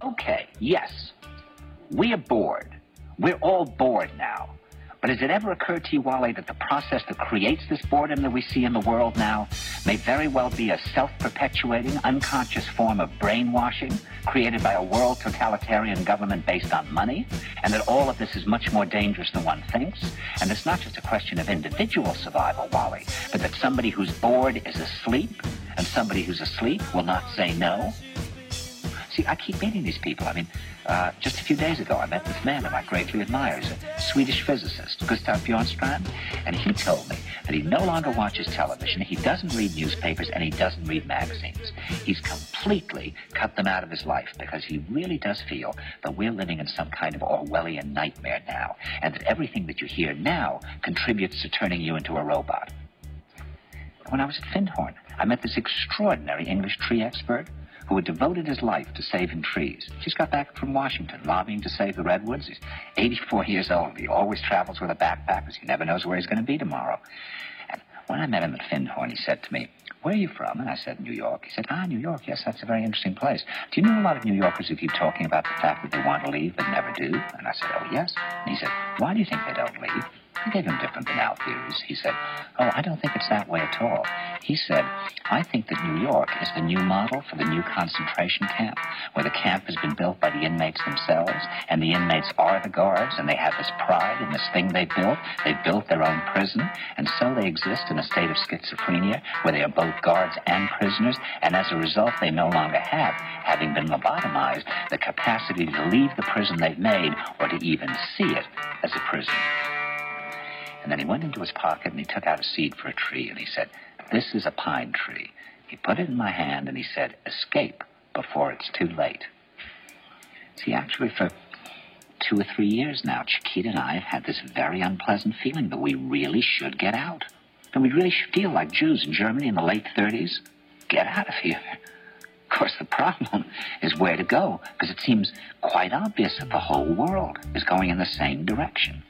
Okay, yes, we are bored. We're all bored now. But has it ever occurred to you, Wally, that the process that creates this boredom that we see in the world now may very well be a self-perpetuating, unconscious form of brainwashing created by a world totalitarian government based on money, and that all of this is much more dangerous than one thinks? And it's not just a question of individual survival, Wally, but that somebody who's bored is asleep, and somebody who's asleep will not say no? See, I keep meeting these people. I mean, just a few days ago, I met this man whom I greatly admire. He's a Swedish physicist, Gustav Bjornstrand, and he told me that he no longer watches television, he doesn't read newspapers, and he doesn't read magazines. He's completely cut them out of his life because he really does feel that we're living in some kind of Orwellian nightmare now, and that everything that you hear now contributes to turning you into a robot. When I was at Findhorn, I met this extraordinary English tree expert who had devoted his life to saving trees. He just got back from Washington, lobbying to save the redwoods. He's 84 years old. He always travels with a backpack because he never knows where he's going to be tomorrow. And when I met him at Findhorn, he said to me, "Where are you from?" And I said, "New York." He said, "New York, yes, that's a very interesting place. Do you know a lot of New Yorkers who keep talking about the fact that they want to leave but never do?" And I said, "Oh, yes." And he said, "Why do you think they don't leave?" I gave him different than our theories. He said, "Oh, I don't think it's that way at all." He said, "I think that New York is the new model for the new concentration camp, where the camp has been built by the inmates themselves, and the inmates are the guards, and they have this pride in this thing they built. They built their own prison, and so they exist in a state of schizophrenia, where they are both guards and prisoners, and as a result, they no longer have, having been lobotomized, the capacity to leave the prison they've made, or to even see it as a prison." And then he went into his pocket and he took out a seed for a tree and he said, "This is a pine tree." He put it in my hand and he said, "Escape before it's too late." See, actually for 2 or 3 years now, Chiquita and I have had this very unpleasant feeling that we really should get out. And we really feel like Jews in Germany in the late 30s. Get out of here. Of course, the problem is where to go, because it seems quite obvious that the whole world is going in the same direction.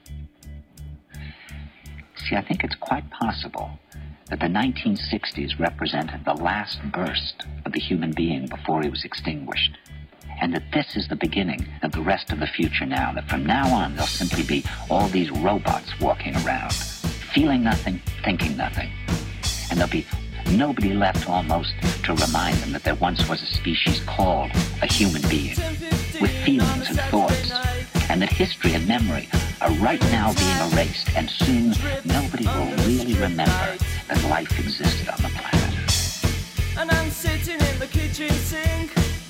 See, I think it's quite possible that the 1960s represented the last burst of the human being before he was extinguished, and that this is the beginning of the rest of the future now, that from now on there'll simply be all these robots walking around, feeling nothing, thinking nothing, and there'll be nobody left almost to remind them that there once was a species called a human being, with feelings and thoughts, and that history and memory are right now being erased, and soon nobody will really remember that life existed on the planet. And I'm sitting in the kitchen sink,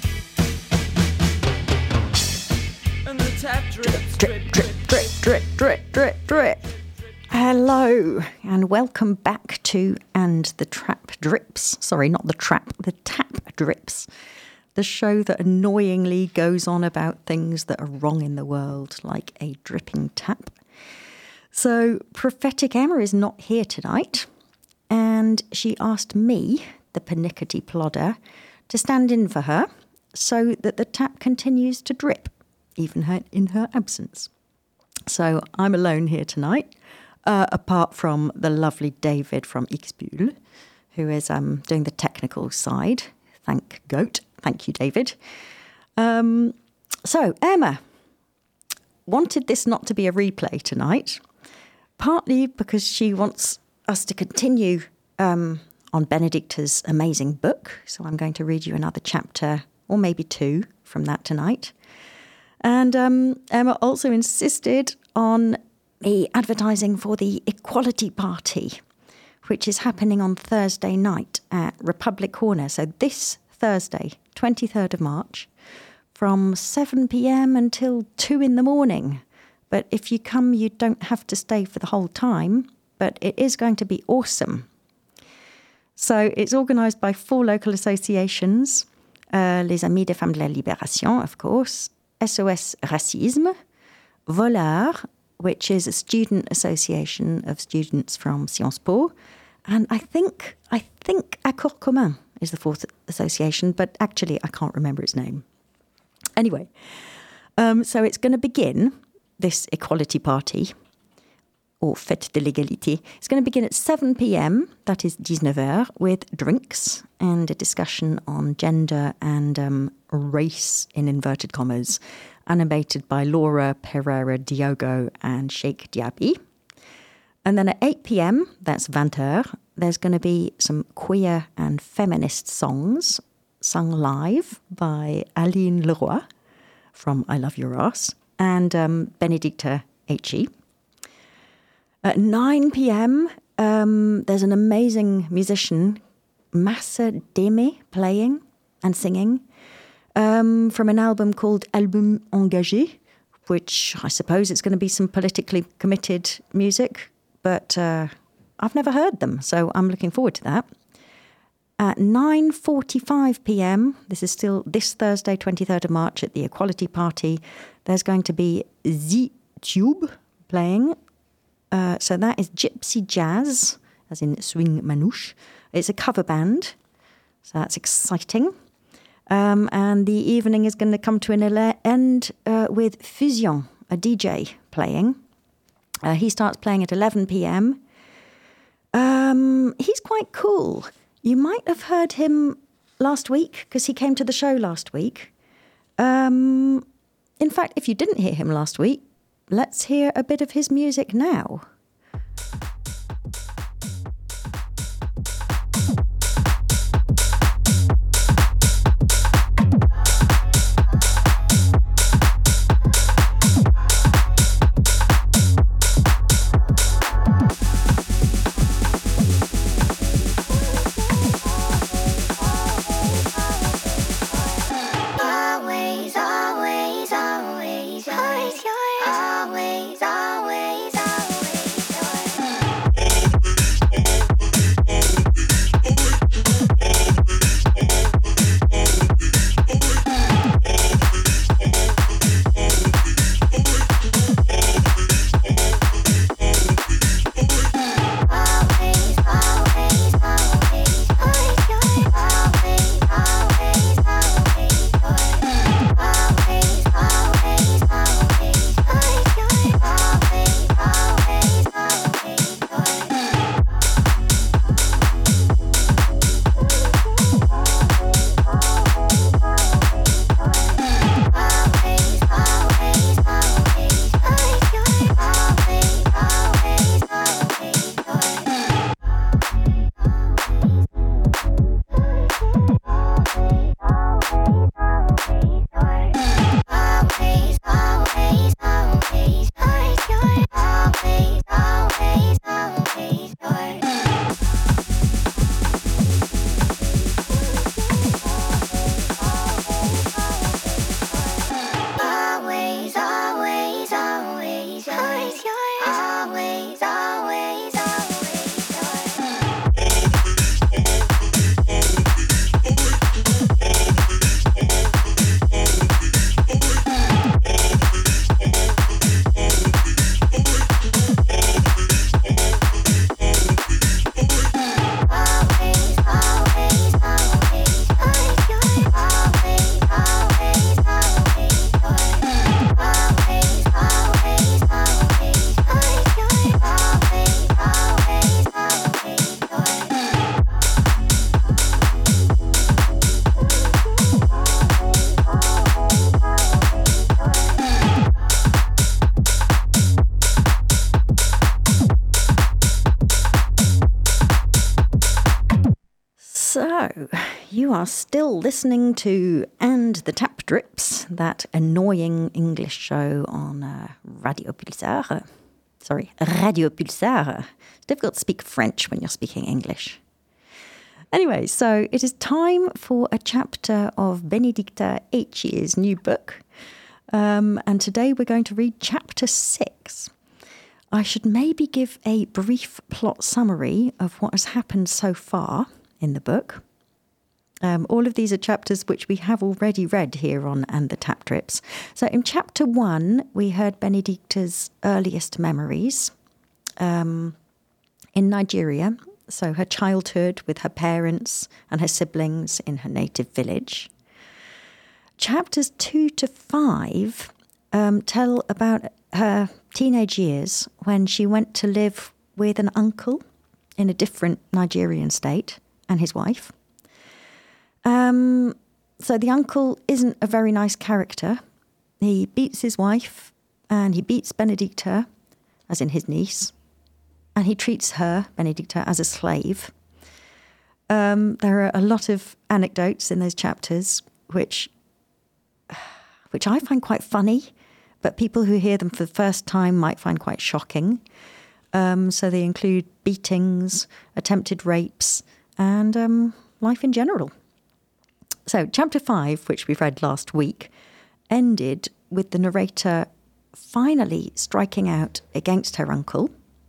and the tap drips, drip, drip, drip, drip, drip, drip, drip. Hello, and welcome back to And the Trap Drips. Sorry, not the trap, the tap drips. The show that annoyingly goes on about things that are wrong in the world, like a dripping tap. So, Prophetic Emma is not here tonight, and she asked me, the pernickety plodder, to stand in for her so that the tap continues to drip, even in her absence. So, I'm alone here tonight, apart from the lovely David from Ixbühl, who is doing the technical side. Thank Goat. Thank you, David. So, Emma wanted this not to be a replay tonight, partly because she wants us to continue on Benedicta's amazing book. So I'm going to read you another chapter, or maybe 2, from that tonight. And Emma also insisted on me advertising for the Equality Party, which is happening on Thursday night at Republic Corner. So this Thursday, 23rd of March, from 7 p.m. until 2 in the morning. But if you come, you don't have to stay for the whole time, but it is going to be awesome. So it's organised by 4 local associations, Les Amis des Femmes de la Libération, of course, SOS Racisme, Volard, which is a student association of students from Sciences Po, and I think Accord Commun is the 4th association, but actually I can't remember its name. Anyway, so it's going to begin, this Equality Party, or Fête de l'Égalité. It's going to begin at 7 p.m., that is 19h, with drinks and a discussion on gender and race, in inverted commas, animated by Laura Pereira Diogo and Sheikh Diaby. And then at 8 p.m, that's 20h, there's going to be some queer and feminist songs sung live by Aline Leroy from I Love Your Ass and Benedicta H.E. At 9 p.m, there's an amazing musician, Massa Deme, playing and singing from an album called Album Engagé, which I suppose it's going to be some politically committed music, but I've never heard them, so I'm looking forward to that. At 9:45 p.m, this is still this Thursday, 23rd of March, at the Equality Party, there's going to be The Tube playing. So that is Gypsy Jazz, as in swing manouche. It's a cover band, so that's exciting. And the evening is going to come to an end with Fusion, a DJ, playing. He starts playing at 11 p.m. He's quite cool. You might have heard him last week because he came to the show last week. In fact, if you didn't hear him last week, let's hear a bit of his music now. So, you are still listening to And the Tap Drips, that annoying English show on Radio Pulsar. Radio Pulsar. It's difficult to speak French when you're speaking English. Anyway, so it is time for a chapter of Benedicta H.'s new book. And today we're going to read chapter 6. I should maybe give a brief plot summary of what has happened so far in the book. All of these are chapters which we have already read here on And the Tap Drips. So in chapter 1, we heard Benedicta's earliest memories in Nigeria. So her childhood with her parents and her siblings in her native village. Chapters 2 to 5 tell about her teenage years when she went to live with an uncle in a different Nigerian state and his wife. So the uncle isn't a very nice character. He beats his wife and he beats Benedicta, as in his niece, and he treats her, Benedicta, as a slave. There are a lot of anecdotes in those chapters which I find quite funny, but people who hear them for the first time might find quite shocking. So they include beatings, attempted rapes, and life in general. So chapter 5, which we read last week, ended with the narrator finally striking out against her uncle.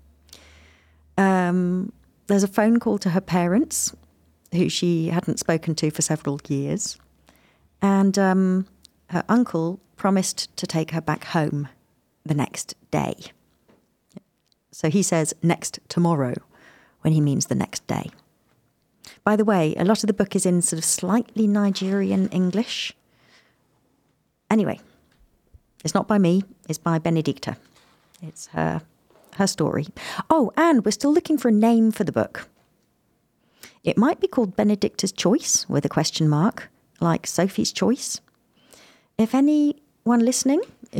There's a phone call to her parents, who she hadn't spoken to for several years. And her uncle promised to take her back home the next day. So he says next tomorrow when he means the next day. By the way, a lot of the book is in sort of slightly Nigerian English. Anyway, it's not by me, it's by Benedicta. It's her story. Oh, and we're still looking for a name for the book. It might be called Benedicta's Choice with a question mark, like Sophie's Choice. If anyone listening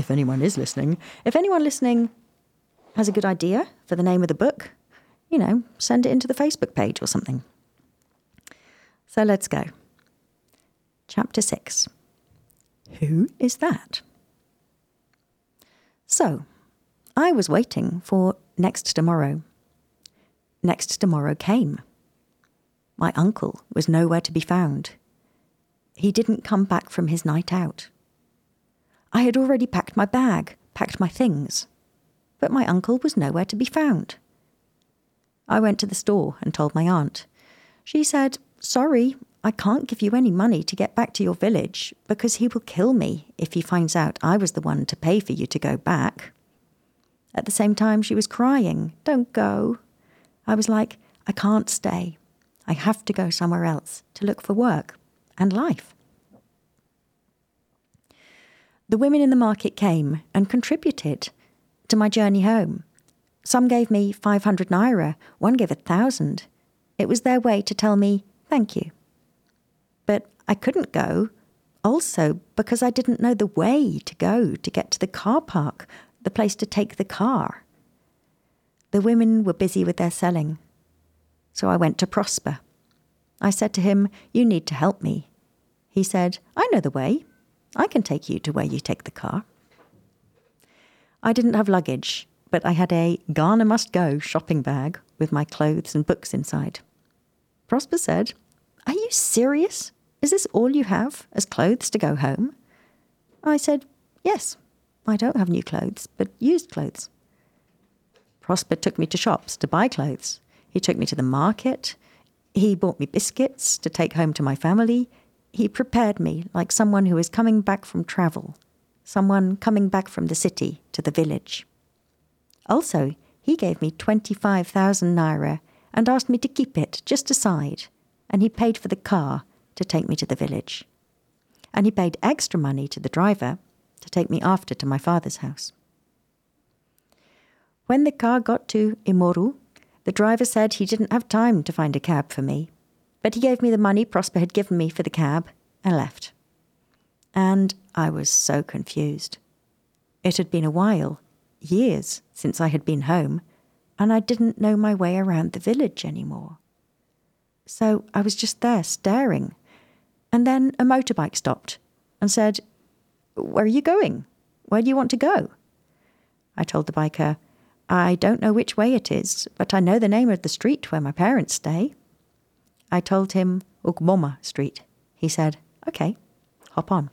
has a good idea for the name of the book, send it into the Facebook page or something. So let's go. Chapter 6. Who is that? So, I was waiting for next tomorrow. Next tomorrow came. My uncle was nowhere to be found. He didn't come back from his night out. I had already packed my bag, packed my things, but my uncle was nowhere to be found. I went to the store and told my aunt. She said, "Sorry, I can't give you any money to get back to your village because he will kill me if he finds out I was the one to pay for you to go back." At the same time, she was crying, "Don't go." I was like, "I can't stay. I have to go somewhere else to look for work and life." The women in the market came and contributed to my journey home. Some gave me 500 naira, one gave 1,000. It was their way to tell me thank you. But I couldn't go, also because I didn't know the way to go to get to the car park, the place to take the car. The women were busy with their selling. So I went to Prosper. I said to him, "You need to help me." He said, "I know the way. I can take you to where you take the car." I didn't have luggage, but I had a Ghana Must Go shopping bag with my clothes and books inside. Prosper said, "Are you serious? Is this all you have as clothes to go home?" I said, "Yes, I don't have new clothes, but used clothes." Prosper took me to shops to buy clothes. He took me to the market. He bought me biscuits to take home to my family. He prepared me like someone who is coming back from travel, someone coming back from the city to the village. Also, he gave me 25,000 naira and asked me to keep it just aside, and he paid for the car to take me to the village. And he paid extra money to the driver to take me after to my father's house. When the car got to Imoru, the driver said he didn't have time to find a cab for me, but he gave me the money Prosper had given me for the cab and left. And I was so confused. It had been a while, years, since I had been home, and I didn't know my way around the village anymore. So I was just there staring, and then a motorbike stopped and said, "Where are you going? Where do you want to go?" I told the biker, "I don't know which way it is, but I know the name of the street where my parents stay." I told him Ugboma Street. He said, "Okay, hop on."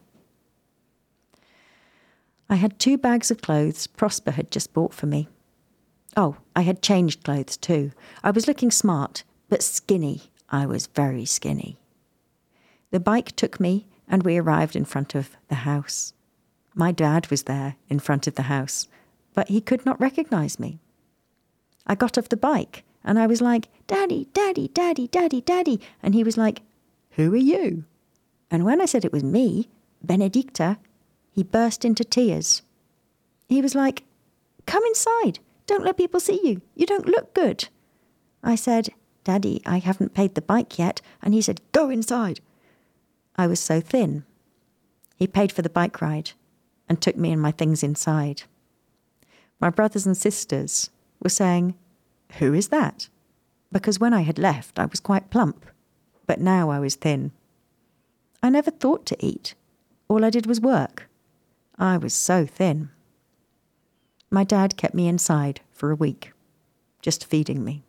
I had 2 bags of clothes Prosper had just bought for me. Oh, I had changed clothes too. I was looking smart, but skinny. I was very skinny. The bike took me and we arrived in front of the house. My dad was there in front of the house, but he could not recognize me. I got off the bike and I was like, "Daddy, Daddy, Daddy, Daddy, Daddy." And he was like, "Who are you?" And when I said it was me, Benedicta, he burst into tears. He was like, come inside. Don't let people see you. You don't look good. I said, Daddy, I haven't paid the bike yet. And he said, go inside. I was so thin. He paid for the bike ride and took me and my things inside. My brothers and sisters were saying, who is that? Because when I had left, I was quite plump, but now I was thin. I never thought to eat. All I did was work. I was so thin. My dad kept me inside for a week, just feeding me.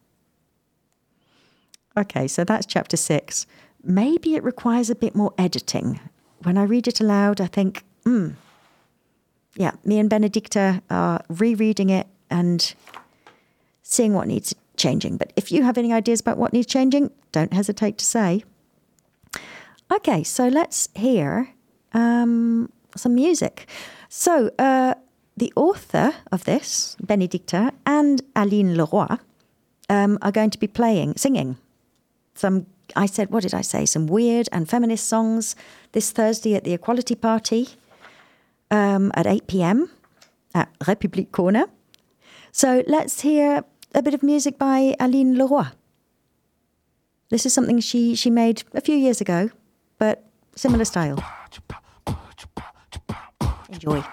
Okay, so that's chapter 6. Maybe it requires a bit more editing. When I read it aloud, I think, yeah, me and Benedicta are rereading it and seeing what needs changing. But if you have any ideas about what needs changing, don't hesitate to say. Okay, so let's hear some music. So the author of this, Benedicta, and Aline Leroy, are going to be singing some, I said, what did I say? Some weird and feminist songs this Thursday at the Equality Party at 8 p.m. at République Corner. So let's hear a bit of music by Aline Leroy. This is something she made a few years ago, but similar style. Enjoy.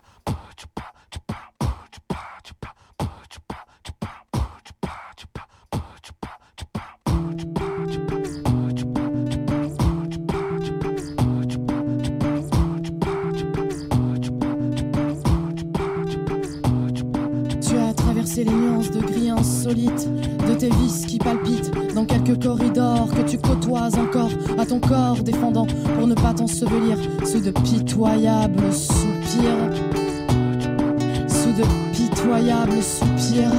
Les nuances de gris insolite de tes vices qui palpitent dans quelques corridors que tu côtoies encore à ton corps défendant pour ne pas t'ensevelir sous de pitoyables soupirs, sous de pitoyables soupirs.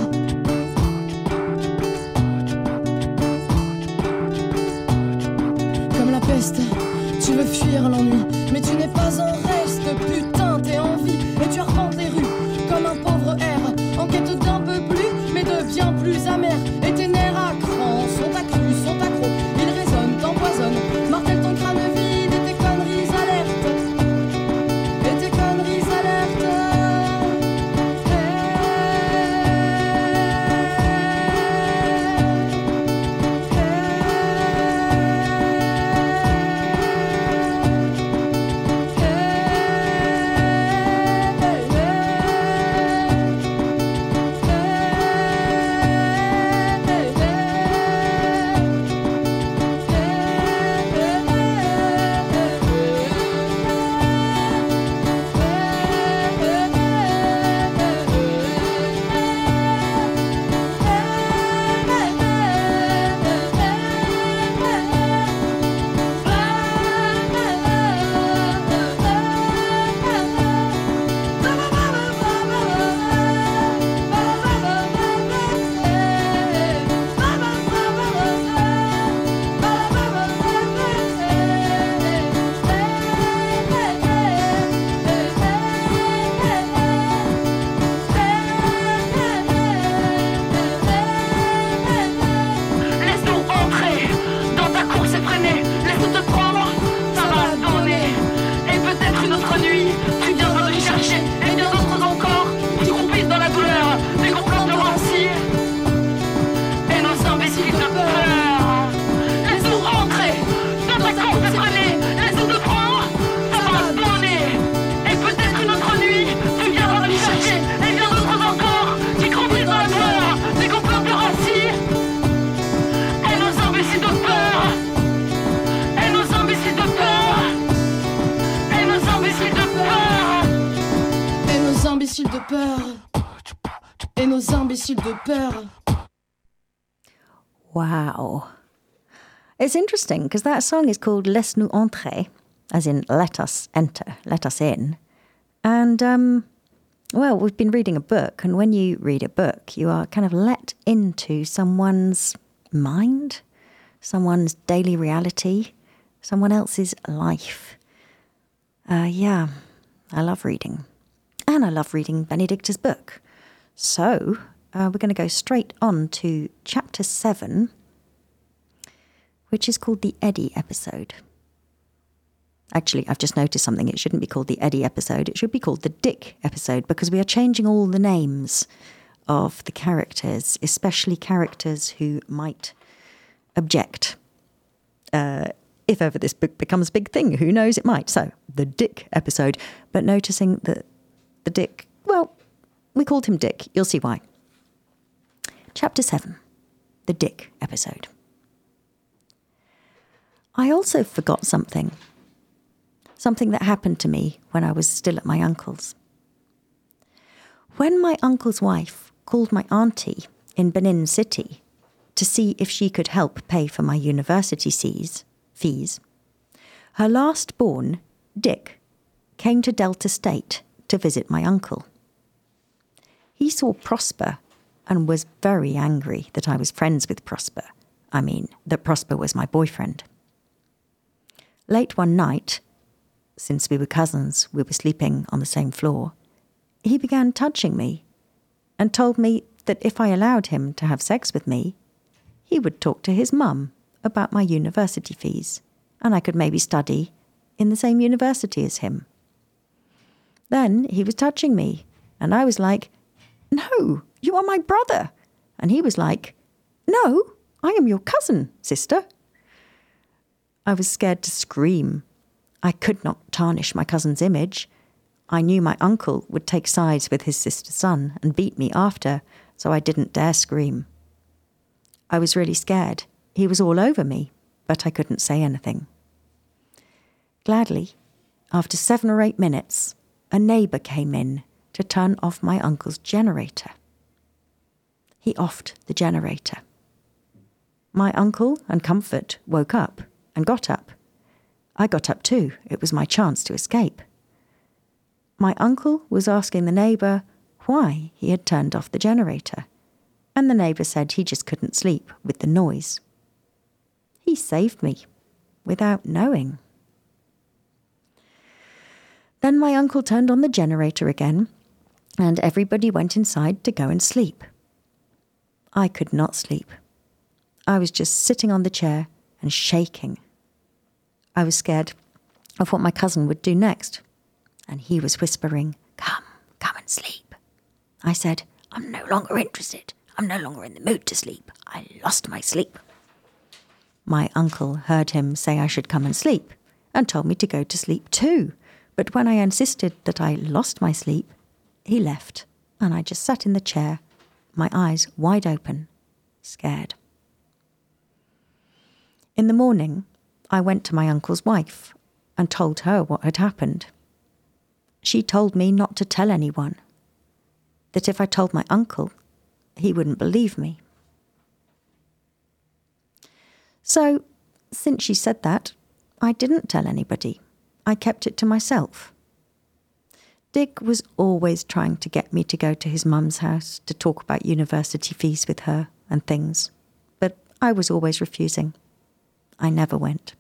Comme la peste, tu veux fuir l'ennui, mais tu n'es pas un reste, putain, t'es en vie et tu arpentes les rues comme un pauvre air en quête d'un peu plus, mais de bien plus amer. Et tes nerfs à cran sont accrus, sont accros, ils résonnent, t'empoisonnent, martèlent ton crâne vide et tes conneries alertes. Et tes conneries alertes. De peur. Wow. It's interesting because that song is called Laisse-nous entrer, as in let us enter, let us in. And, well, we've been reading a book, and when you read a book, you are kind of let into someone's mind, someone's daily reality, someone else's life. Yeah, I love reading. And I love reading Benedicta's book. So we're going to go straight on to chapter 7, which is called the Eddie episode. Actually, I've just noticed something. It shouldn't be called the Eddie episode. It should be called the Dick episode, because we are changing all the names of the characters, especially characters who might object. If ever this book becomes a big thing, who knows, it might. So, the Dick episode. But noticing that the Dick, well, we called him Dick. You'll see why. Chapter 7, the Dick episode. I also forgot something that happened to me when I was still at my uncle's. When my uncle's wife called my auntie in Benin City to see if she could help pay for my university fees, her last born, Dick, came to Delta State to visit my uncle. He saw Prosper and was very angry that I was friends with Prosper. I mean, that Prosper was my boyfriend. Late one night, since we were cousins, we were sleeping on the same floor, he began touching me and told me that if I allowed him to have sex with me, he would talk to his mum about my university fees, and I could maybe study in the same university as him. Then he was touching me, and I was like, "No, you are my brother." And he was like, "No, I am your cousin, sister." I was scared to scream. I could not tarnish my cousin's image. I knew my uncle would take sides with his sister's son and beat me after, so I didn't dare scream. I was really scared. He was all over me, but I couldn't say anything. Gladly, after 7 or 8 minutes, a neighbour came in to turn off my uncle's generator. He offed the generator. My uncle and Comfort woke up and got up. I got up too. It was my chance to escape. My uncle was asking the neighbour why he had turned off the generator, and the neighbour said he just couldn't sleep with the noise. He saved me without knowing. Then my uncle turned on the generator again, and everybody went inside to go and sleep. I could not sleep. I was just sitting on the chair and shaking. I was scared of what my cousin would do next, and he was whispering, come and sleep." I said, "I'm no longer interested. I'm no longer in the mood to sleep. I lost my sleep." My uncle heard him say I should come and sleep, and told me to go to sleep too. But when I insisted that I lost my sleep, he left, and I just sat in the chair, my eyes wide open, scared. In the morning, I went to my uncle's wife and told her what had happened. She told me not to tell anyone, that if I told my uncle, he wouldn't believe me. So, since she said that, I didn't tell anybody. I kept it to myself. Dick was always trying to get me to go to his mum's house to talk about university fees with her and things, but I was always refusing. I never went.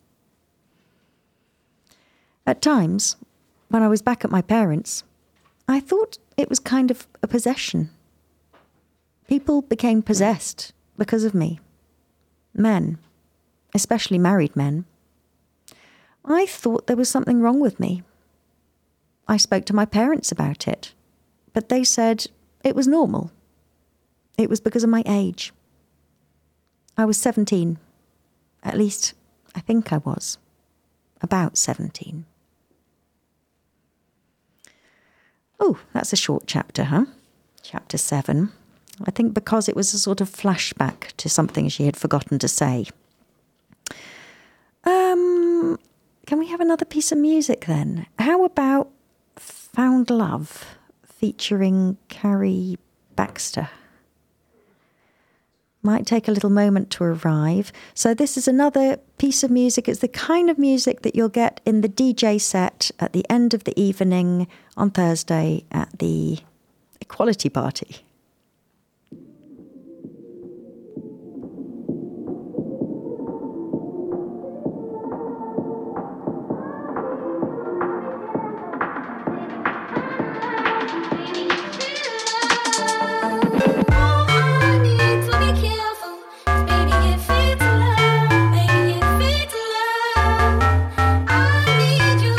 At times, when I was back at my parents', I thought it was kind of a possession. People became possessed because of me. Men, especially married men. I thought there was something wrong with me. I spoke to my parents about it, but they said it was normal. It was because of my age. I was 17. At least, I think I was. About 17. Oh, that's a short chapter, huh? Chapter 7. I think because it was a sort of flashback to something she had forgotten to say. Can we have another piece of music then? How about Found Love featuring Carrie Baxter? Might take a little moment to arrive. So this is another piece of music. It's the kind of music that you'll get in the DJ set at the end of the evening on Thursday at the Equality Party. I need you.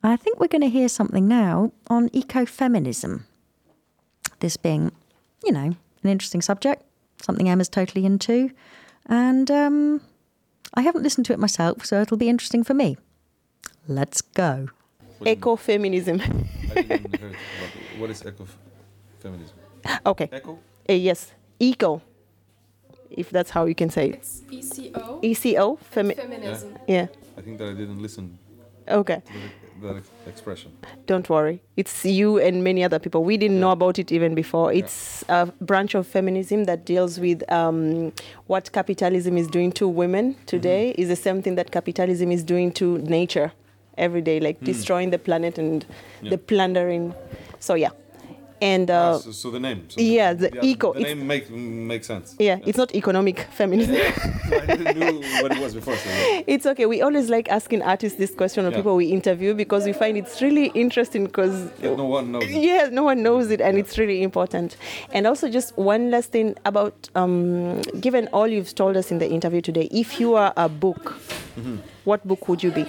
I think we're going to hear something now on ecofeminism. This being, an interesting subject, something Emma's totally into. And I haven't listened to it myself, so it'll be interesting for me. Let's go. Ecofeminism. I didn't hear about what is ecofeminism. Okay. Eco? Yes. Eco. If that's how you can say it. It's ECO. ECO? Feminism. Yeah. I think that I didn't listen Okay. to that expression. Don't worry. It's you and many other people. We didn't know about it even before. It's a branch of feminism that deals with what capitalism is doing to women today. Is the same thing that capitalism is doing to nature every day, like destroying the planet and the plundering. So yeah. And so the name. So the eco. The name makes sense. Yeah, it's not economic feminism. I didn't know what it was before. So It's okay. We always like asking artists this question or people we interview because we find it's really interesting because no one knows. Yeah, no one knows it, and it's really important. And also, just one last thing about given all you've told us in the interview today, if you are a book, what book would you be?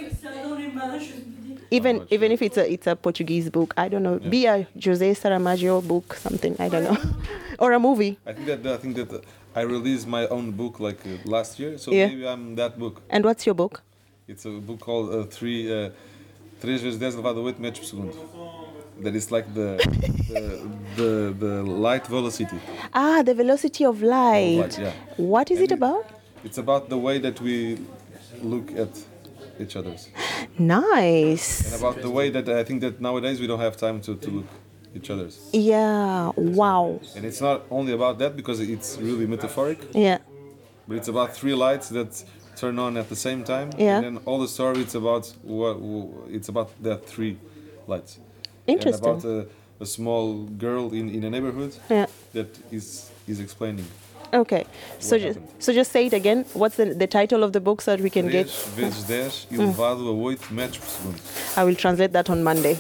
Even if it's a Portuguese book, I don't know. Be a José Saramago book, something, I don't know, or a movie. I think that I released my own book like last year, so maybe I'm that book. And what's your book? It's a book called 3 vezes 10 elevado a 8 metros por segundo. That is like the light velocity. Ah, the velocity of light. Yeah. What is it about? It's about the way that we look at each other's. Nice. And about the way that I think that nowadays we don't have time to look each other's. Yeah. Wow. And it's not only about that because it's really metaphoric, Yeah. but it's about 3 lights that turn on at the same time. Yeah. And then all the story it's about the 3 lights. Interesting. And about a small girl in a neighborhood that is explaining. Okay. So just say it again. What's the title of the book so that we can 3 get? vezes 10 elevado a 8 metros por segundo. I will translate that on Monday.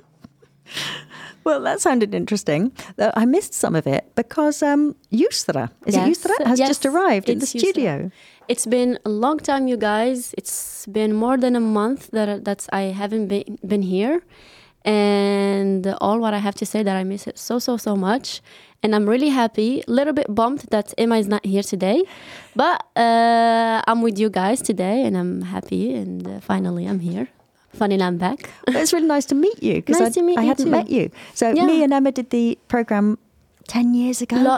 Well, that sounded interesting. Though I missed some of it because Yusra, is it Yusra, has just arrived in the studio. It's been a long time, you guys. It's been more than a month that I haven't been here. And all what I have to say that I miss it so much. And I'm really happy, a little bit bummed that Emma is not here today. But I'm with you guys today and I'm happy. And finally I'm here. Finally I'm back. Well, it's really nice to meet you because I hadn't met you. So me and Emma did the program 10 years ago.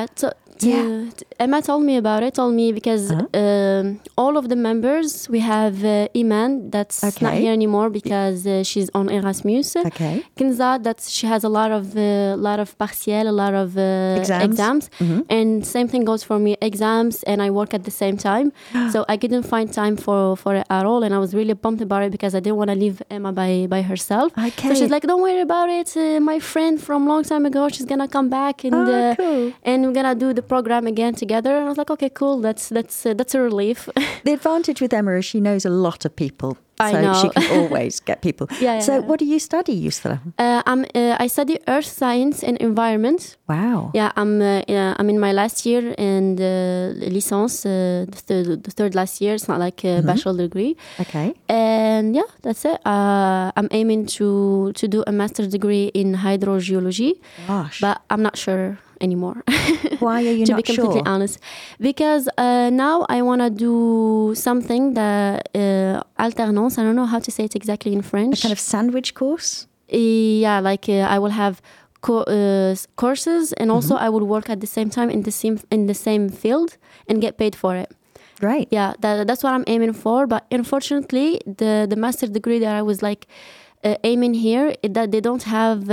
Emma told me about it, because all of the members, we have Iman, that's not here anymore because she's on Erasmus. Okay. Kinza, she has a lot of partiel, a lot of exams. Mm-hmm. And same thing goes for me, exams, and I work at the same time. So I couldn't find time for it at all, and I was really pumped about it because I didn't want to leave Emma by herself. Okay. So she's like, don't worry about it. My friend from long time ago, she's going to come back and cool. And we're going to do the program again together. And I was like, okay, cool. That's a relief. The advantage with Emma is she knows a lot of people. I so know. she can always get people. So what do you study, Yusra? I study earth science and environment. Wow. Yeah, I'm in my last year and licence, the third last year. It's not like a bachelor degree. Okay. And yeah, that's it. I'm aiming to do a master's degree in hydrogeology. Gosh. But I'm not sure anymore. Why are you to not be completely sure? honest, because now I want to do something that alternance. I don't know how to say it exactly in French. A kind of sandwich course? Yeah, like I will have courses, and also I would work at the same time in the same field and get paid for it. Great. Yeah, that's what I'm aiming for. But unfortunately, the master degree that I was like aiming here, that they don't have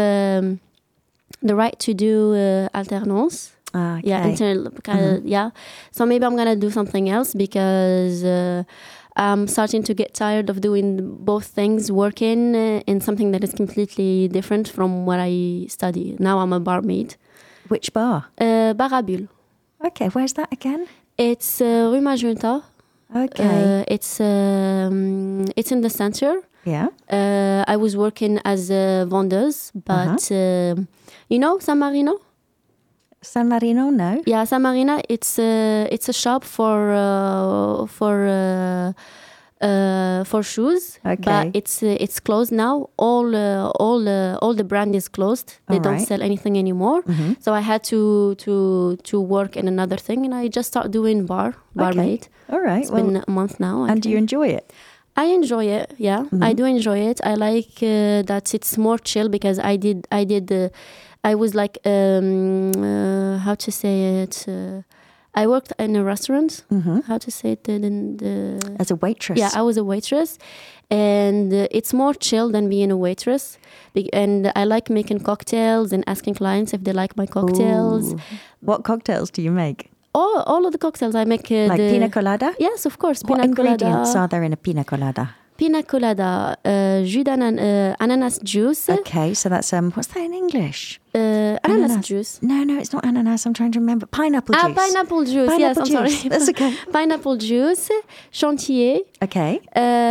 the right to do alternance. Okay. Yeah, so maybe I'm gonna do something else because I'm starting to get tired of doing both things, working in something that is completely different from what I study. Now I'm a barmaid. Which bar? Bar à Bulle. Okay, where's that again? It's Rue Magenta. Okay. It's in the center. Yeah. I was working as a vendeuse, but you know San Marino? San Marino, no. Yeah, San Marino. It's a shop for for shoes. Okay. But it's closed now. All the brand is closed. They All don't right. sell anything anymore. So I had to work in another thing, and I just start doing barmaid. All right. It's been a month now. and do you enjoy it? I enjoy it. Yeah, I do enjoy it. I like that it's more chill because I was like how to say it. I worked in a restaurant. How to say it? As a waitress? Yeah, I was a waitress, and it's more chill than being a waitress. And I like making cocktails and asking clients if they like my cocktails. Ooh. What cocktails do you make? All of the cocktails I make. Like pina colada? Yes, of course. What Pina ingredients colada. are there in a pina colada? Pina colada, jus ananas juice. Okay, so that's what's that in English? Ananas juice. No, it's not ananas. I'm trying to remember. Pineapple juice. Pineapple juice. Yes, Pineapple I'm juice. sorry. That's okay. Pineapple juice, chantilly, Okay.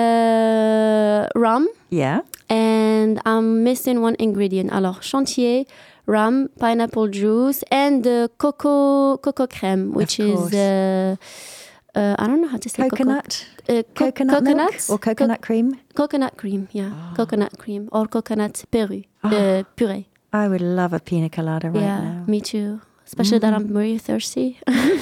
rum, Yeah. and I'm missing one ingredient. Alors, chantilly, rum, pineapple juice, and cocoa crème, which course. is I don't know how to say Coconut. coconut milk nuts or coconut cream. coconut cream. Yeah, coconut cream or coconut puree. Puree. I would love a pina colada right Yeah, now. me too. Especially that I'm very thirsty.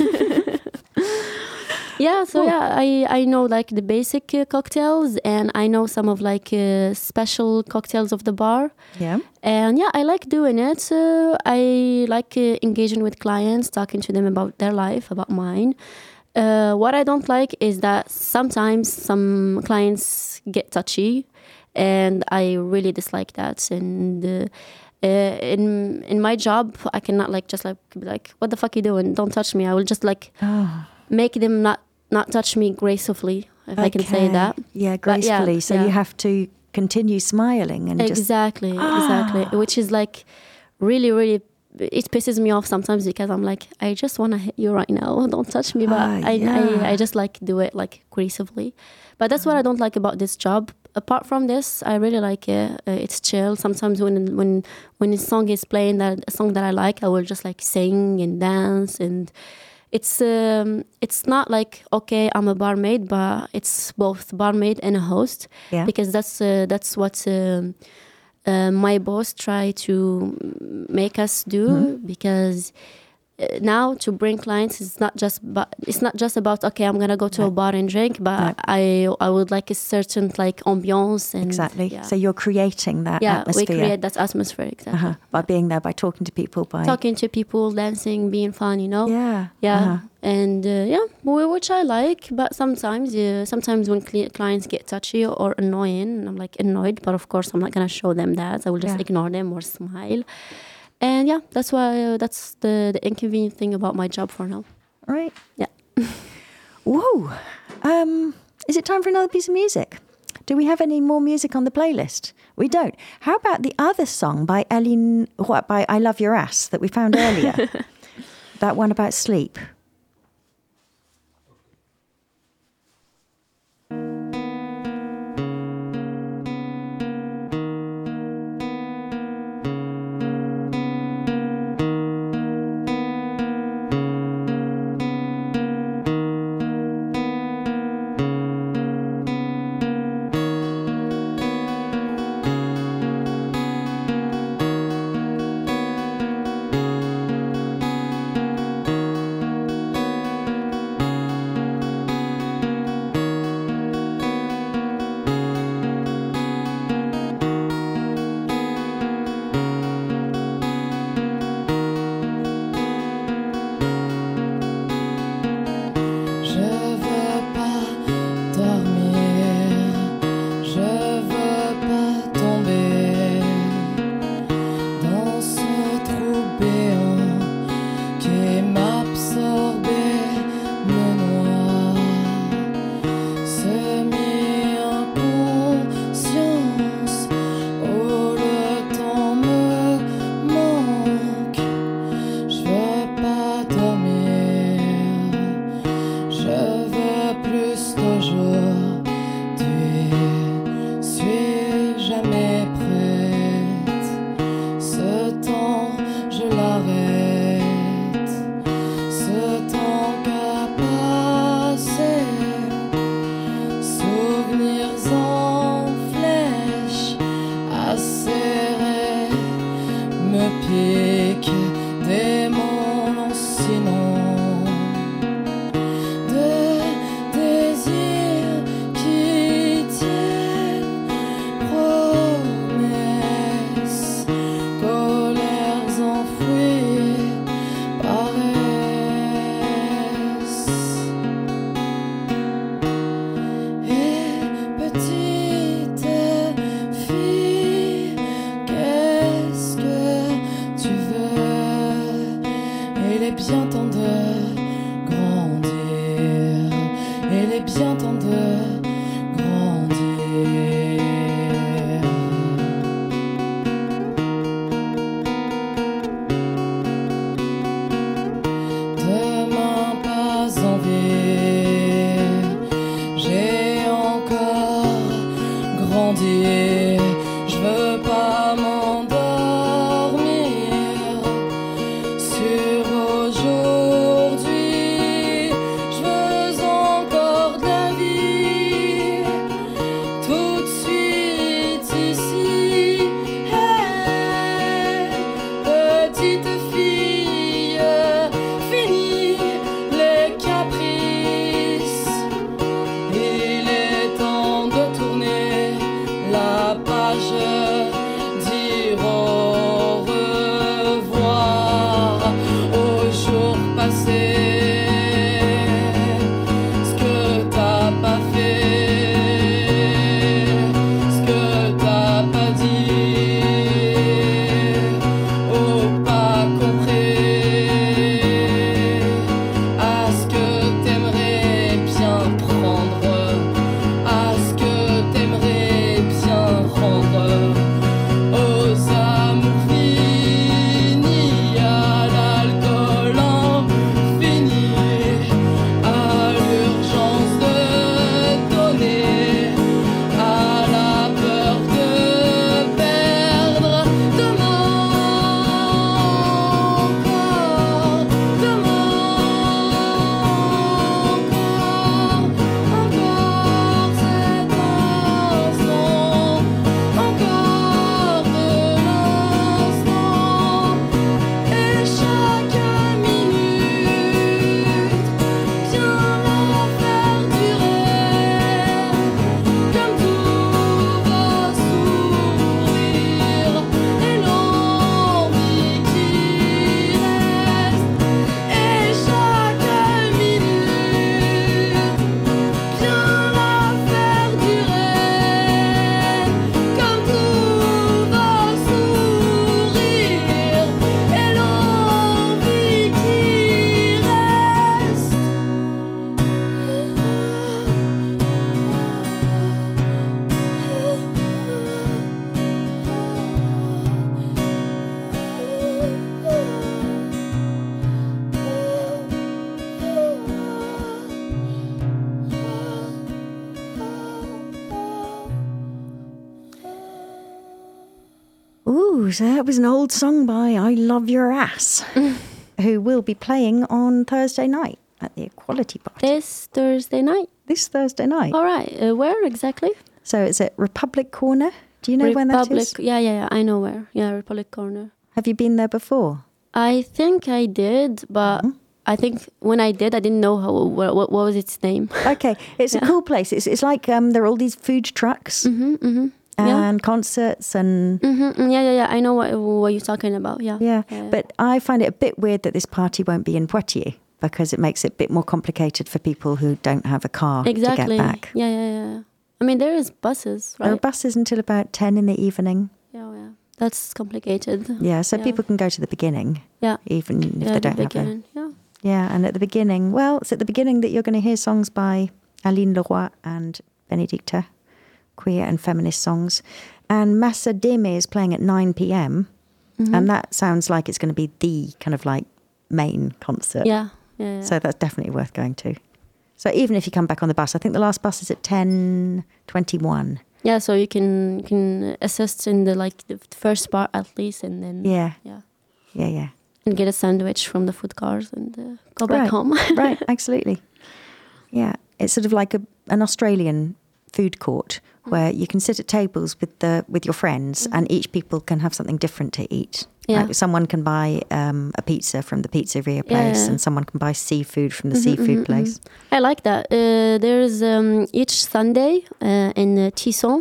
Yeah, so I know like the basic cocktails, and I know some of like special cocktails of the bar. Yeah. And yeah, I like doing it. I like engaging with clients, talking to them about their life, about mine. What I don't like is that sometimes some clients get touchy, and I really dislike that. And in my job, I cannot like just like be like, "What the fuck you doing? Don't touch me." I will just like make them not touch me gracefully, if I can say Okay. that. Yeah, But yeah, gracefully. So yeah. you have to continue smiling and just. Exactly. Which is like really, really, it pisses me off sometimes because I'm like, I just want to hit you right now. Don't touch me. But I just like do it like gracefully. But that's what I don't like about this job. Apart from this, I really like it. It's chill. Sometimes when a song is playing, that a song that I like, I will just like sing and dance, and it's not like, okay, I'm a barmaid, but it's both barmaid and a host. Yeah. Because that's what my boss tried to make us do. Because now to bring clients is not just about, okay, I'm gonna go to a bar and drink, but I would like a certain like ambiance and Exactly. yeah. So you're creating that Yeah, atmosphere. we create that atmosphere, exactly. By being there, by talking to people, by Talking to people, dancing, being fun, you know. Yeah. And which I like. But sometimes when clients get touchy or annoying, I'm like annoyed. But of course, I'm not gonna show them that. I will just ignore them or smile. And yeah, that's why that's the inconvenient thing about my job for now. Right. Yeah. Whoa. Is it time for another piece of music? Do we have any more music on the playlist? We don't. How about the other song by by I Love Your Ass that we found earlier? That one about sleep. est bien temps de grandir. Demain pas envie, j'ai encore grandi. Je veux pas m'endormir sur aujourd'hui. Je veux encore de la vie tout de suite ici. Hey, petite fille, fini les caprices. Il est temps de tourner la page, dire au revoir aux jours passés. Ce que t'as pas fait, ce que t'as pas dit, ou pas compris, à ce que t'aimerais bien prendre, à ce que t'aimerais bien rendre aux amours finis, à l'alcool infini, à l'urgence de donner, à la peur de perdre. Demain encore, demain encore cet instant, encore de l'instant, et chaque minute vient la faire durer, comme tout va s'ouvrir, et l'envie qui reste, et chaque minute vient la faire durer, comme tout va s'ouvrir, et l'envie qui reste. Ooh, so that was an old song by I Love Your Ass, who will be playing on Thursday night at the Equality Party. This Thursday night. This Thursday night. All right. Where exactly? So it's at Republic Corner. Do you know when that is? Yeah. I know where. Yeah, Republic Corner. Have you been there before? I think I did, but I think when I did, I didn't know what was its name. Okay, it's a cool place. It's like there are all these food trucks and concerts and Yeah. I know what you're talking about. Yeah. yeah. But I find it a bit weird that this party won't be in Poitiers because it makes it a bit more complicated for people who don't have a car Exactly. to get back. Yeah. I mean, there is buses, right? There are buses until about 10 in the evening. Yeah. That's complicated. Yeah, so people can go to the beginning, Yeah. even if they don't have a... Yeah. Yeah, and at the beginning, well, it's at the beginning that you're going to hear songs by Aline Leroy and Benedicta, queer and feminist songs. And Massa Deme is playing at 9 p.m. And that sounds like it's going to be the kind of like main concert. Yeah. So that's definitely worth going to. So even if you come back on the bus, I think the last bus is at 10:21. Yeah, so you can assist in the first part at least, and then Yeah. and get a sandwich from the food cars and go back home. Right, absolutely. Yeah, it's sort of like an Australian food court where you can sit at tables with your friends, and each people can have something different to eat. Yeah. Like someone can buy a pizza from the pizzeria place, Yeah. and someone can buy seafood from the seafood place. I like that. There's each Sunday in Tisson.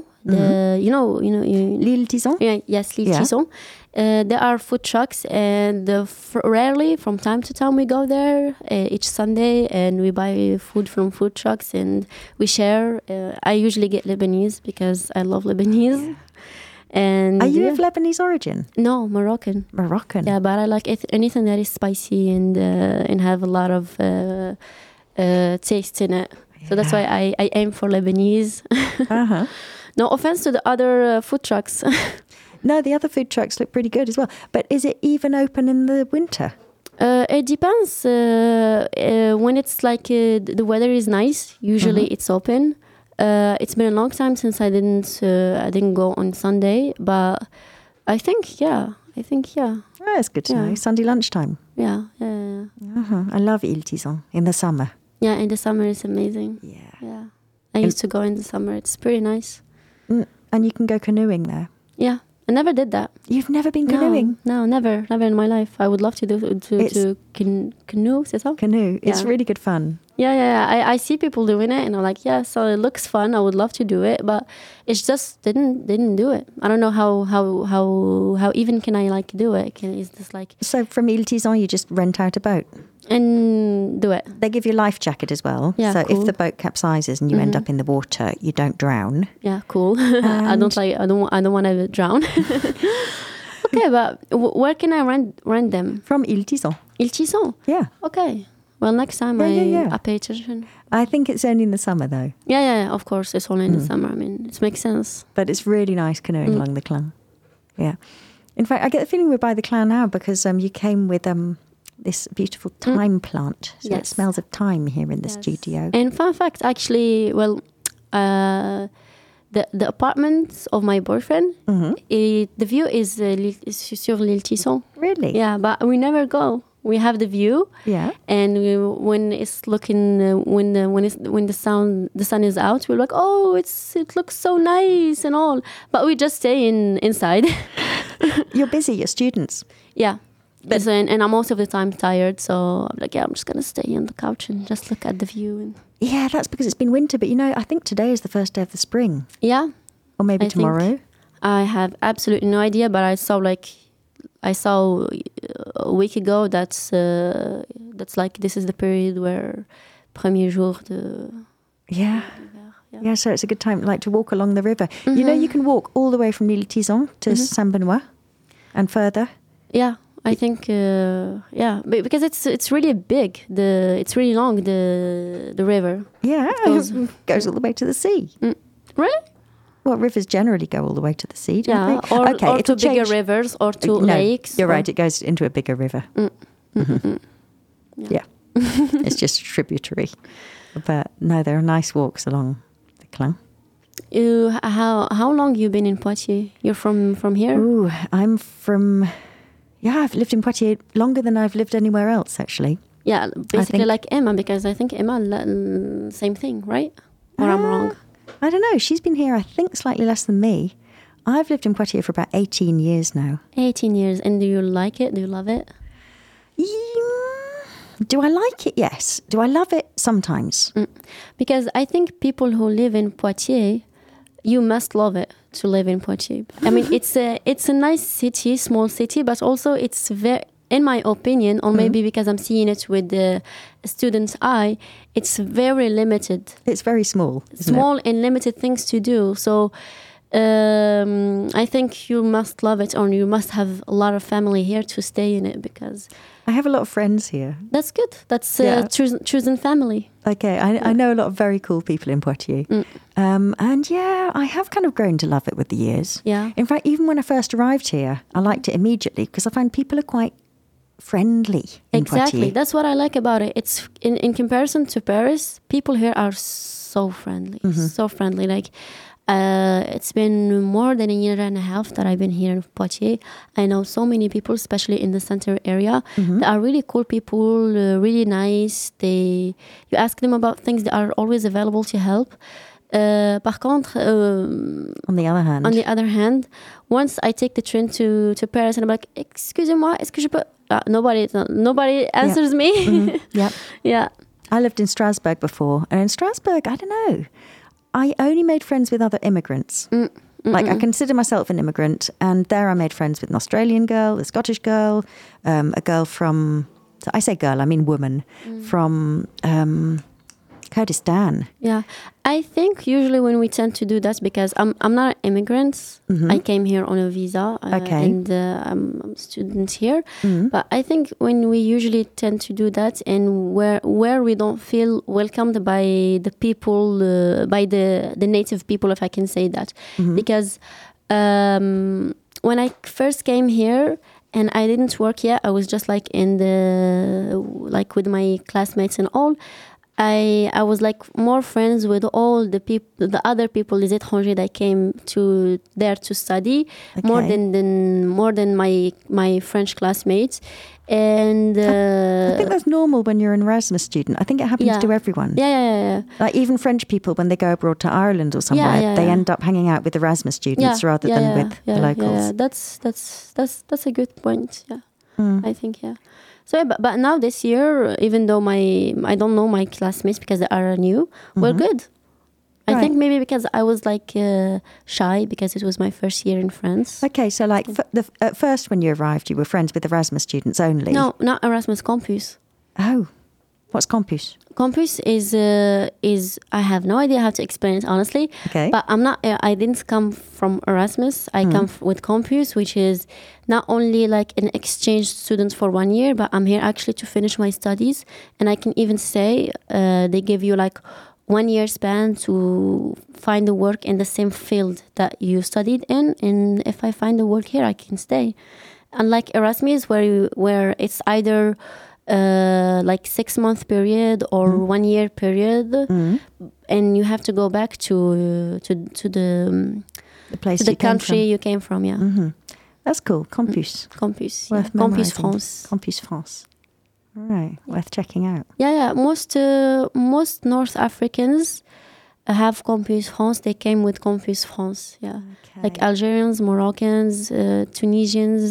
L'Île Tison? Yes, L'Île Yeah. Tisson. There are food trucks, and rarely, from time to time, we go there each Sunday, and we buy food from food trucks, and we share. I usually get Lebanese because I love Lebanese. Yeah. And Are you of Lebanese origin? No, Moroccan. Moroccan. Yeah, but I like anything that is spicy and have a lot of taste in it. So that's why I aim for Lebanese. Uh-huh. No offense to the other food trucks. No, the other food trucks look pretty good as well. But is it even open in the winter? It depends. When it's like the weather is nice, usually it's open. It's been a long time since I didn't go on Sunday, but I think yeah. Oh, that's good to Yeah. know. Sunday lunchtime. Yeah. Uh-huh. I love Ile Tison in the summer. Yeah, in the summer it's amazing. Yeah. I used to go in the summer. It's pretty nice. And you can go canoeing there. Yeah. I never did that. You've never been canoeing? No, never in my life. I would love to do canoe, c'est ça? Canoe. It's Yeah. really good fun. Yeah. I see people doing it, and I'm like, yeah, so it looks fun. I would love to do it, but it's just didn't do it. I don't know how even can I like do it? Is this like So from Ile Tison, you just rent out a boat. and do it? They give you a life jacket as well. Yeah, so cool. if the boat capsizes and you end up in the water, you don't drown. Yeah, cool. I don't want to drown. Okay, but where can I rent them? From Ile Tison. Ile Tison. Yeah. Okay. Well, next time Yeah. I pay attention. I think it's only in the summer though. Yeah. Of course, it's only in the summer. I mean, it makes sense. But it's really nice canoeing along the Clan. Yeah. In fact, I get the feeling we're by the Clan now because you came with this beautiful thyme plant. So it Yes. smells of thyme here in the studio. And fun fact, actually, well, the apartment of my boyfriend, the view is sur l'Ile Tison. Really? Yeah, but we never go. We have the view, Yeah. and when it's looking when the sun is out, we're like, oh, it looks so nice and all, but we just stay inside. You're busy, you're students. Yeah. And I'm most of the time tired, so I'm like, yeah, I'm just gonna stay on the couch and just look at the view. And Yeah, that's because it's been winter. But I think today is the first day of the spring. yeah, Or maybe I think- tomorrow. I have absolutely no idea, but I saw a week ago that's like this is the period where premier jour de Yeah. Yeah, so it's a good time like to walk along the river. You can walk all the way from Ile Tison to Saint-Benoît and further. yeah. I think because it's really big. It's really long. The river. Yeah, goes all the way to the sea. Really? Well, rivers generally go all the way to the sea, don't Yeah. they? Or it'll to bigger change. rivers or to No, lakes. You're or- right, it goes into a bigger river. Yeah. It's just a tributary. But no, there are nice walks along the Clan. How long you been in Poitiers? You're from here? Ooh, I'm from... Yeah, I've lived in Poitiers longer than I've lived anywhere else, actually. Yeah, basically think- like Emma, because I think Emma, same thing, right? Or I'm wrong? I don't know. She's been here, I think, slightly less than me. I've lived in Poitiers for about 18 years now. 18 years. And do you like it? Do you love it? Do I like it? Yes. Do I love it? Sometimes. Because I think people who live in Poitiers, you must love it to live in Poitiers. I mean, it's a nice city, small city, but also it's very, in my opinion, or maybe because I'm seeing it with the student's eye, it's very limited. It's very small. Isn't Small and limited things to do. So I think you must love it, or you must have a lot of family here to stay in it, because I have a lot of friends here. that's good. That's Yeah. choosing family. Okay, I know a lot of very cool people in Poitiers. And yeah, I have kind of grown to love it with the years. Yeah. In fact, even when I first arrived here, I liked it immediately because I find people are quite friendly in Exactly. Poitiers. That's what I like about it. It's in comparison to Paris, people here are so friendly. So friendly. Like it's been more than a year and a half that I've been here in Poitiers. I know so many people, especially in the center area. They are really cool people, really nice. You ask them about things, they are always available to help. Par contre, On the other hand, once I take the train to Paris and I'm like, excusez-moi, est-ce que je peux... nobody answers me. Yep. Yeah. I lived in Strasbourg before, and in Strasbourg, I don't know, I only made friends with other immigrants. Like, I consider myself an immigrant, and there I made friends with an Australian girl, a Scottish girl, a girl from, so I say girl, I mean woman, from Kurdistan. Yeah, I think usually when we tend to do that, because I'm not an immigrant, I came here on a visa, Okay. and I'm a student here. But I think when we usually tend to do that, and where we don't feel welcomed by the people, by the native people, if I can say that, because when I first came here. And I didn't work yet. I was just like with my classmates and all. I was like more friends with all the other people, les étrangers that came there to study, more than my French classmates. And I think that's normal when you're an Erasmus student. I think it happens to everyone. Yeah. Like even French people, when they go abroad to Ireland or somewhere, they end up hanging out with Erasmus students rather than with the locals. Yeah. That's a good point. Yeah, I think So, but now this year, even though I don't know my classmates because they are new, we're good. I think maybe because I was like shy because it was my first year in France. Okay, so like at first when you arrived, you were friends with Erasmus students only? No, not Erasmus, Campus. Oh, what's Campus? Campus is I have no idea how to explain it honestly. Okay. But I didn't come from Erasmus. I come with Campus, which is not only like an exchange student for 1 year, but I'm here actually to finish my studies. And I can even say they give you like 1 year span to find a work in the same field that you studied in. And if I find a work here, I can stay. Unlike Erasmus, where it's either like 6-month period or 1 year period, and you have to go back to the place to the you came country from. you came from. Yeah, That's cool. Campus. Campus. Worth Campus memorising. France. Campus France. All right, worth checking out. Yeah. Most North Africans have Campus France. They came with Campus France. Yeah, like Algerians, Moroccans, Tunisians.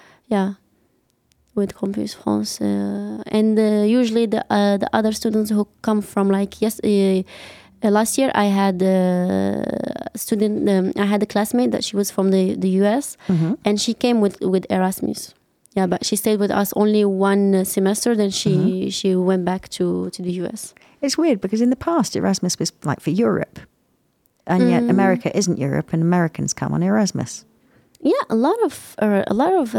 With Campus France, and usually the other students who come from like last year I had a student. I had a classmate that she was from the US, and she came with Erasmus. Yeah, but she stayed with us only 1 semester. Then she went back to the US. It's weird because in the past Erasmus was like for Europe, and yet America isn't Europe, and Americans come on Erasmus. Yeah, a lot of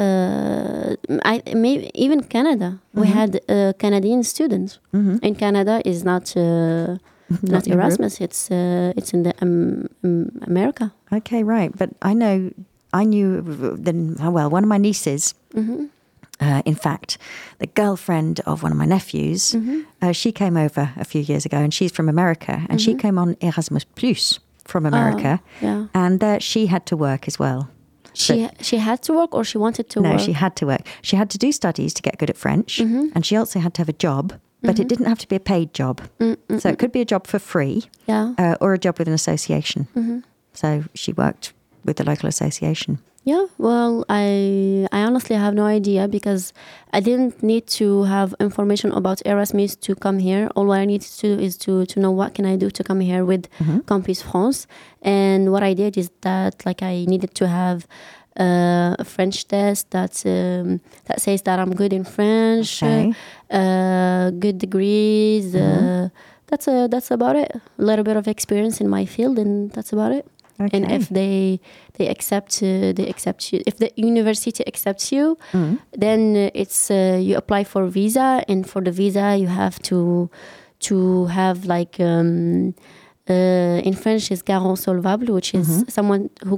maybe even Canada. We had Canadian students, and Canada is not Erasmus. It's in the America. Okay, right. But I knew one of my nieces. In fact, the girlfriend of one of my nephews, she came over a few years ago, and she's from America, and she came on Erasmus Plus from America, and she had to work as well. She had to work, or she wanted to work? No, she had to work. She had to do studies to get good at French, and she also had to have a job, but it didn't have to be a paid job. So it could be a job for free, or a job with an association. So she worked with the local association. Yeah, well, I honestly have no idea because I didn't need to have information about Erasmus to come here. All I needed to do is to know what can I do to come here with Campus France. And what I did is that like I needed to have a French test that says that I'm good in French, good degrees. That's about it. A little bit of experience in my field, and that's about it. Okay. And if they accept you, if the university accepts you, then it's you apply for visa, and for the visa you have to have like in French is garant solvable, which is someone who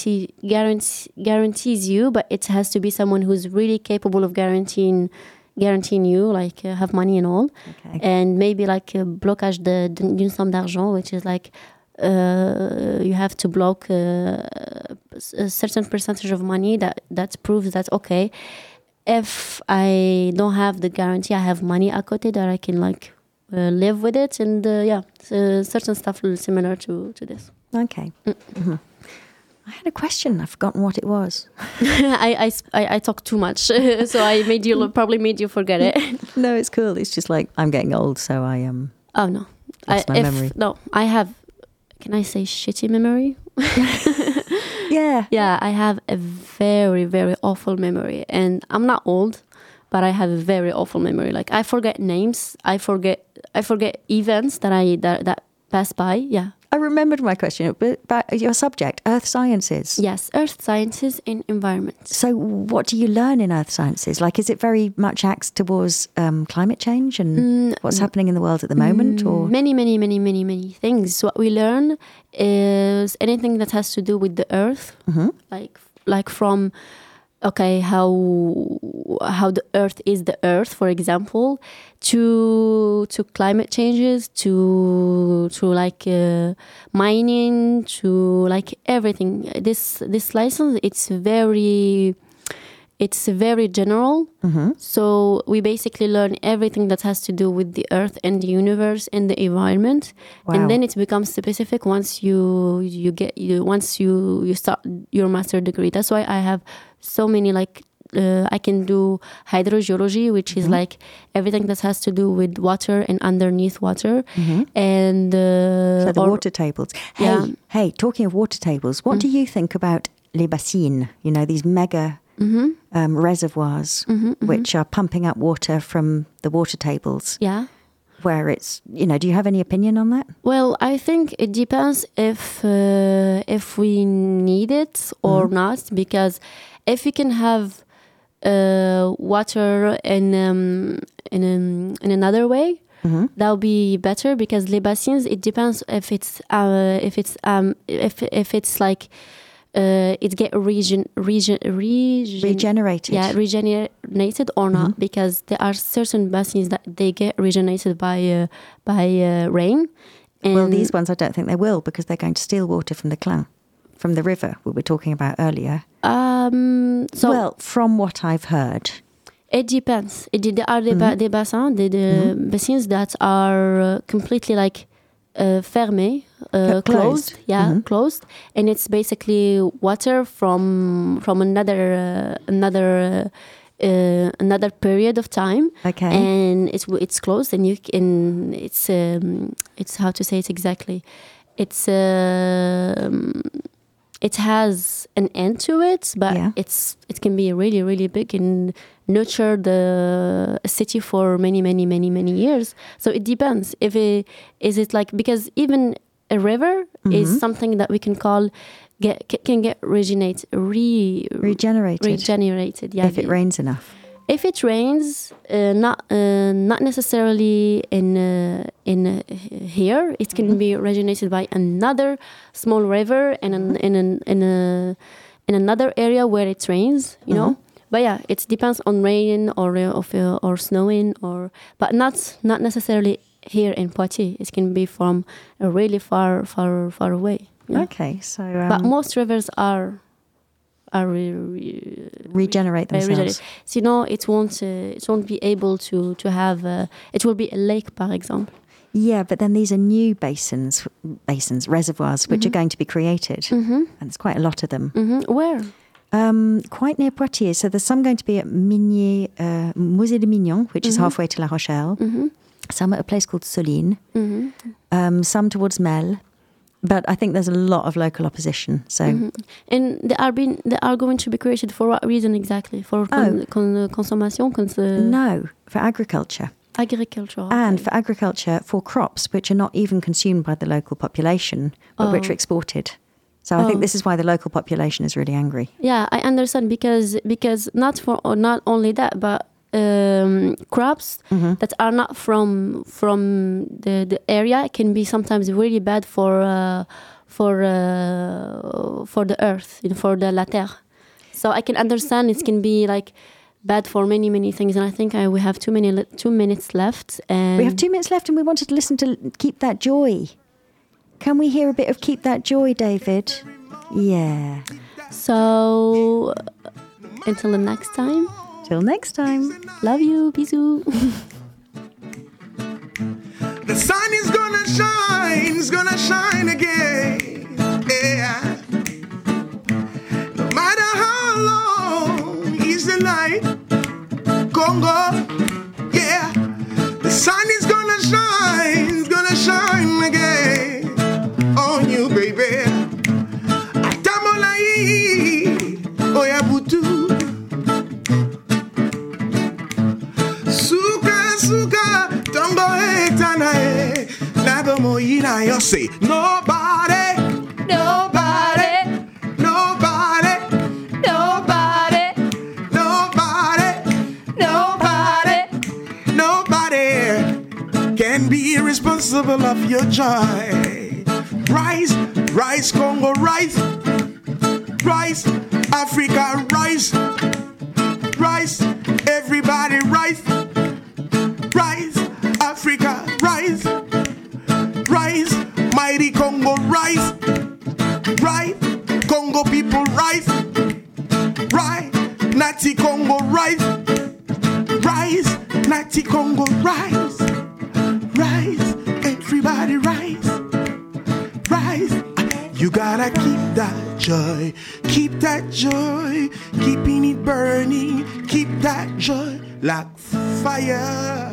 guarantees you, but it has to be someone who's really capable of guaranteeing you, like have money and all, and maybe like blocage d'une somme d'argent, which is like. You have to block a certain percentage of money that proves that okay, if I don't have the guarantee, I have money à côté that I can like live with it, and certain stuff similar to this. Okay. I had a question. I've forgotten what it was. I talk too much, so I probably made you forget it. No, it's cool. It's just like I'm getting old, so I Oh no, lost my memory. No, I have. Can I say shitty memory? Yeah. Yeah, I have a very, very awful memory. And I'm not old, but I have a very awful memory. Like, I forget names. I forget I forget events that pass by. Yeah. I remembered my question about your subject, earth sciences. Yes, earth sciences and environment. So what do you learn in earth sciences? Like, is it very much axed towards climate change and what's happening in the world at the moment? Or Many things. What we learn is anything that has to do with the earth, like from how the earth is the earth, for example, to climate changes, to like mining, to like everything. This license, it's very general. So we basically learn everything that has to do with the earth and the universe and the environment. Wow. And then it becomes specific once you start your master degree. That's why I have so many, like I can do hydrogeology, which is like everything that has to do with water and underneath water, and so the water tables. Hey, talking of water tables, what do you think about les bassines? You know, these mega reservoirs which are pumping up water from the water tables. Yeah. Where it's, you know, do you have any opinion on that? Well, I think it depends if we need it or not, because if we can have water in another way, that'll be better, because les bassins, it depends if it's like it get regenerated. Yeah, regenerated or not, because there are certain basins that they get regenerated by rain. And well, these ones I don't think they will, because they're going to steal water from the Clain, from the river we were talking about earlier. Well, from what I've heard, it depends. There are des bassins, the basins that are completely like fermé, closed. Yeah, closed, and it's basically water from another period of time. Okay, and it's closed, and it's how to say it exactly. It has an end to it, but it can be really, really big and nurture the city for many years. So it depends. Is it like, because even a river is something that we can call can get regenerated. Yeah, if it rains enough. If it rains, not necessarily in here, it can be regenerated by another small river and in another area where it rains. You know, but yeah, it depends on rain or snowing, but not necessarily here in Poitiers. It can be from a really far away. Yeah? Okay, so but most rivers are regenerate themselves. So, you know, it won't be able to have it will be a lake, par exemple. Yeah, but then these are new basins, reservoirs, which are going to be created, and there's quite a lot of them. Where? Quite near Poitiers. So there's some going to be at Musée de Mignon, which is halfway to La Rochelle. Some at a place called Soline. Some towards Mel. But I think there's a lot of local opposition. So, and they are going to be created for what reason exactly? For consommation? No, for agriculture. Agriculture. Okay. And for agriculture, for crops which are not even consumed by the local population, but which are exported. So I think this is why the local population is really angry. Yeah, I understand, because not only that, but crops that are not from the area can be sometimes really bad for the earth, for the la terre. So I can understand it can be like bad for many things, and I think we have 2 minutes left. And we have 2 minutes left, and we wanted to listen to Keep That Joy. Can we hear a bit of Keep That Joy, David? Yeah. So until the next time. Till next time. Love you. Bisous. The sun is gonna shine, it's gonna shine again. Yeah. No matter how long is the night, Congo. Yeah. The sun is gonna shine, it's gonna shine again on you, baby. Atamolai, Oyabutu. Suka, tongo etana. como ina yo say nobody, nobody, nobody, nobody, nobody, nobody, nobody can be responsible of your joy. Rise, rise, Congo, rise, rise, Africa, rise, rise, everybody, rise, rise, Africa, rise, rise, mighty Congo, rise, rise, Congo people, rise, rise, Natty Congo, rise, rise, Natty Congo, rise, rise, everybody, rise, rise. You gotta keep that joy, keep that joy, keeping it burning, keep that joy like fire.